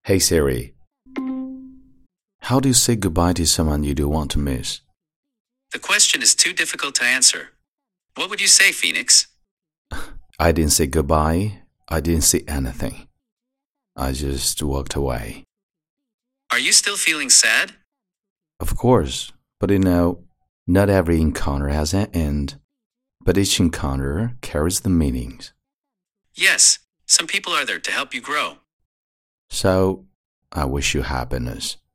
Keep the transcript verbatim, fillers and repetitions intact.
Hey Siri, how do you say goodbye to someone you don't want to miss? The question is too difficult to answer. What would you say, Phoenix? I didn't say goodbye. I didn't say anything. I just walked away. Are you still feeling sad? Of course, but you know, not every encounter has an end, but each encounter carries the meanings. Yes, some people are there to help you grow. So, I wish you happiness.